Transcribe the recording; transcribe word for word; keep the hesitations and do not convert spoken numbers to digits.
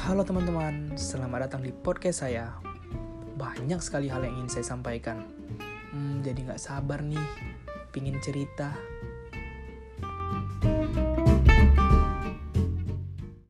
Halo teman-teman, selamat datang di podcast saya. Banyak sekali hal yang ingin saya sampaikan. Hmm, jadi gak sabar nih, pingin cerita.